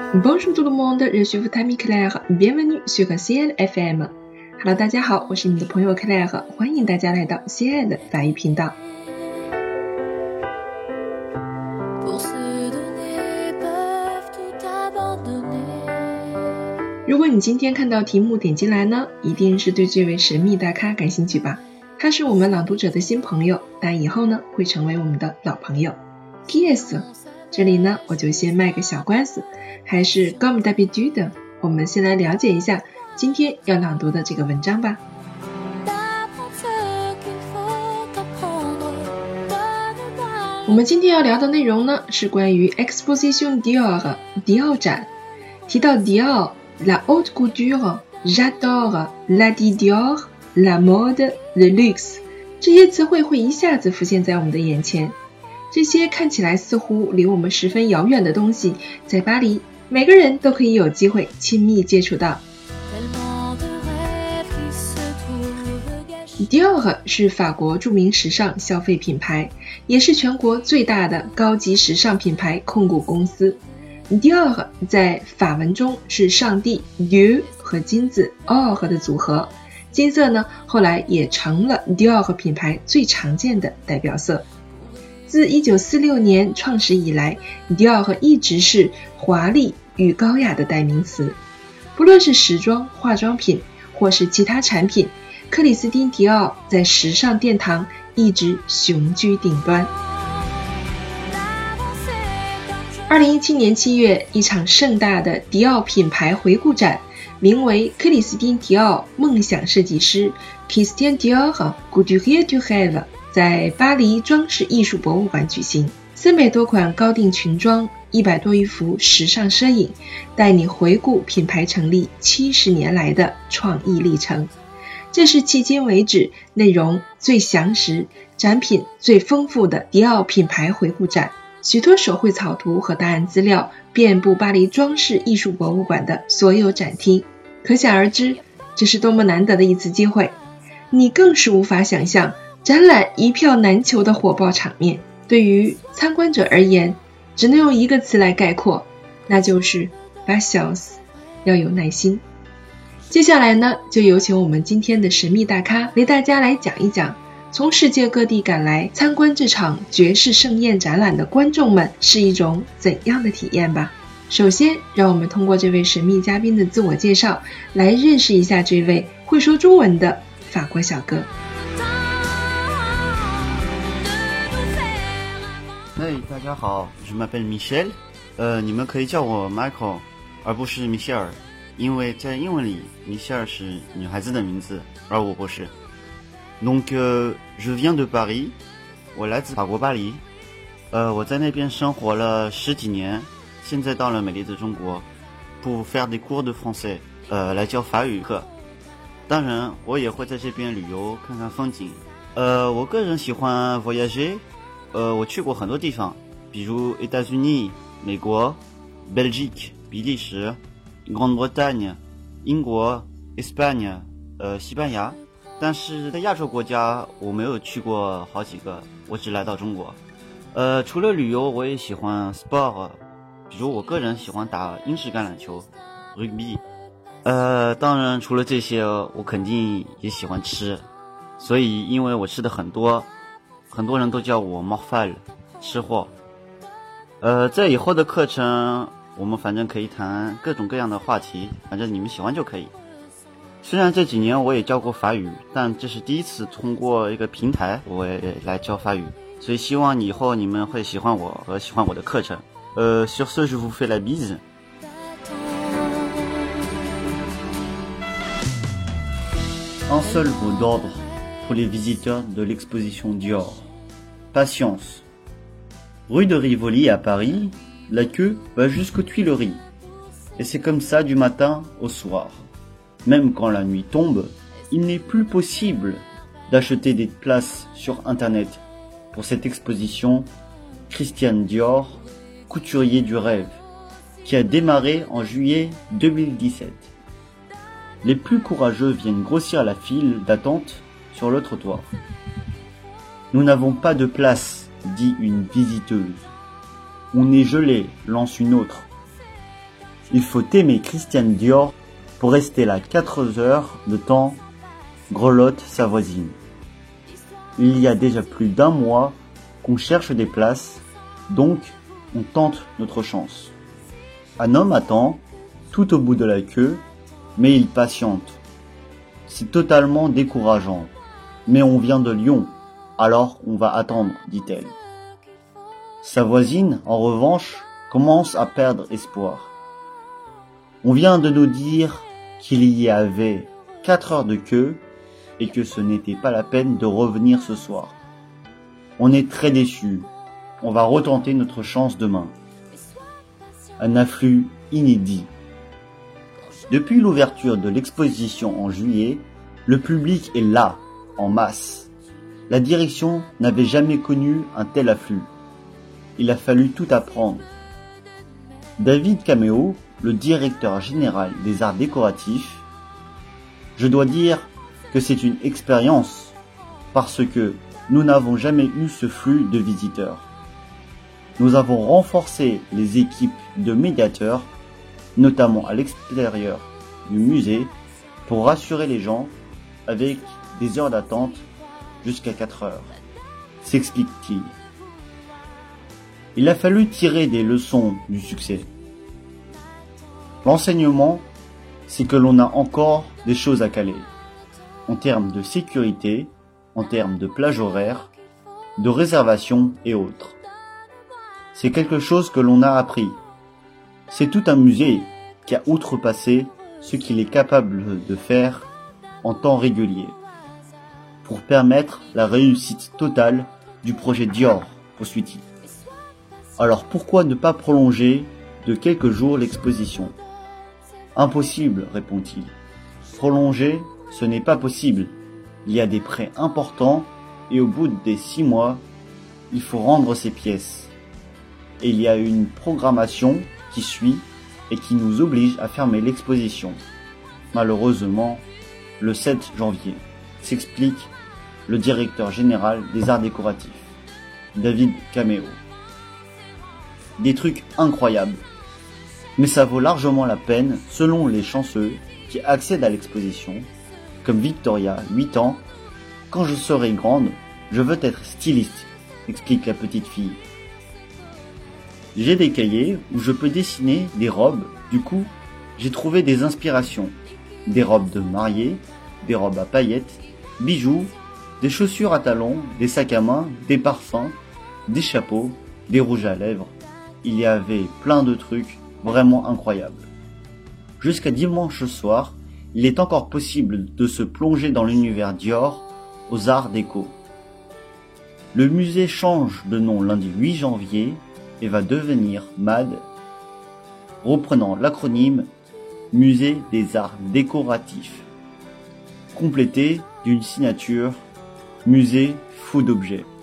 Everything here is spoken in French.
Bonjour tout le monde, je suis votre ami Claire, bienvenue sur CL FM。Hello， 大家好，我是你的朋友 Claire， 欢迎大家来到 CL 的法语频道。如果你今天看到题目点进来呢，一定是对这位神秘大咖感兴趣吧？他是我们朗读者的新朋友，但以后呢会成为我们的老朋友。Qui est-ce？ 这里呢我就先卖个小关子，还是 comme d'habitude 的，我们先来了解一下今天要朗读的这个文章吧。我们今天要聊的内容呢是关于 Exposition Dior 迪奥展。提到迪奥La haute couture, j'adore, la Dior, la mode, le luxe 这些词汇会一下子浮现在我们的眼前。这些看起来似乎离我们十分遥远的东西，在巴黎每个人都可以有机会亲密接触到。Dior 是法国著名时尚消费品牌，也是全国最大的高级时尚品牌控股公司。Dior 在法文中是上帝 Dieu 和金子 Or 的组合，金色呢后来也成了 Dior 品牌最常见的代表色。自1946年创始以来， Dior 一直是华丽与高雅的代名词。不论是时装、化妆品或是其他产品，克里斯汀·迪奥在时尚殿堂一直雄居顶端。2017年7月，一场盛大的迪奥品牌回顾展，名为克里斯汀·迪奥梦想设计师 Christian Dior Couturier du Rêve 在巴黎装饰艺术博物馆举行。300多款高定裙装，100多余幅时尚摄影，带你回顾品牌成立70年来的创意历程。这是迄今为止内容最详实、展品最丰富的迪奥品牌回顾展。许多手绘草图和档案资料遍布巴黎装饰艺术博物馆的所有展厅，可想而知，这是多么难得的一次机会。你更是无法想象展览一票难求的火爆场面。对于参观者而言，只能用一个词来概括，那就是 patience， 要有耐心。接下来呢，就有请我们今天的神秘大咖为大家来讲一讲，从世界各地赶来参观这场爵士盛宴展览的观众们是一种怎样的体验吧。首先，让我们通过这位神秘嘉宾的自我介绍来认识一下这位会说中文的法国小哥。 大家好， je m'appelle Michel， 你们可以叫我 Michael， 而不是 Michelle， 因为在英文里 Michelle 是女孩子的名字，而我不是。Donc je viens de Paris， 我来自法国巴黎，我在那边生活了10几年，现在到了美丽的中国 pour faire des cours de français， 来教法语课。当然我也会在这边旅游看看风景。我个人喜欢 voyager， 我去过很多地方，比如 États-Unis 美国， Belgique 比利时， Grande-Bretagne 英国， Espagne 西班牙。但是在亚洲国家我没有去过好几个，我只来到中国。除了旅游，我也喜欢 sport， 比如我个人喜欢打英式橄榄球 rugby。当然除了这些，我肯定也喜欢吃，所以因为我吃的很多，很多人都叫我 morphal 吃货。在以后的课程我们反正可以谈各种各样的话题，反正你们喜欢就可以。虽然这几年我也教过法语，但这是第一次通过一个平台我也来教法语，所以希望以后你们会喜欢我和喜欢我的课程。Sur ce, je vous fais la bise. Un seul mot d'ordre pour les visiteurs de l'exposition Dior. Patience. Rue de Rivoli à Paris, la queue va jusqu'aux Tuileries. Et c'est comme ça du matin au soir.Même quand la nuit tombe, il n'est plus possible d'acheter des places sur Internet pour cette exposition Christian Dior, couturier du rêve, qui a démarré en juillet 2017. Les plus courageux viennent grossir la file d'attente sur le trottoir. Nous n'avons pas de place, dit une visiteuse. On est gelé, lance une autre. Il faut aimer Christian Dior pour rester là 4 heures de temps, grelotte sa voisine. Il y a déjà plus d'1 mois qu'on cherche des places, donc on tente notre chance. Un homme attend, tout au bout de la queue, mais il patiente. C'est totalement décourageant. Mais on vient de Lyon, alors on va attendre, dit-elle. Sa voisine, en revanche, commence à perdre espoir. On vient de nous dire qu'il y avait 4 heures de queue et que ce n'était pas la peine de revenir ce soir. On est très déçus. On va retenter notre chance demain. Un afflux inédit. Depuis l'ouverture de l'exposition en juillet, le public est là, en masse. La direction n'avait jamais connu un tel afflux. Il a fallu tout apprendre. David Cameo, le directeur général des arts décoratifs, je dois dire que c'est une expérience parce que nous n'avons jamais eu ce flux de visiteurs. Nous avons renforcé les équipes de médiateurs, notamment à l'extérieur du musée, pour rassurer les gens avec des heures d'attente jusqu'à 4 heures, s'explique-t-il. Il a fallu tirer des leçons du succès. L'enseignement, c'est que l'on a encore des choses à caler, en termes de sécurité, en termes de plage horaire, de réservation et autres. C'est quelque chose que l'on a appris. C'est tout un musée qui a outrepassé ce qu'il est capable de faire en temps régulier, pour permettre la réussite totale du projet Dior, poursuit-il. Alors pourquoi ne pas prolonger de quelques jours l'exposition? Impossible, répond-il. Prolonger, ce n'est pas possible. Il y a des prêts importants et au bout des 6 mois, il faut rendre ces pièces. Et il y a une programmation qui suit et qui nous oblige à fermer l'exposition. Malheureusement, le 7 janvier, s'explique le directeur général des arts décoratifs, David Cameo. Des trucs incroyables. Mais ça vaut largement la peine selon les chanceux qui accèdent à l'exposition, comme Victoria, 8 ans. Quand je serai grande, je veux être styliste, explique la petite fille. J'ai des cahiers où je peux dessiner des robes, du coup, j'ai trouvé des inspirations. Des robes de mariée, des robes à paillettes, bijoux, des chaussures à talons, des sacs à main, des parfums, des chapeaux, des rouges à lèvres. Il y avait plein de trucs vraiment incroyables. Jusqu'à dimanche soir, il est encore possible de se plonger dans l'univers Dior aux arts déco. Le musée change de nom lundi 8 janvier et va devenir MAD, reprenant l'acronyme Musée des Arts Décoratifs, complété d'une signature Musée Fou d'Objets.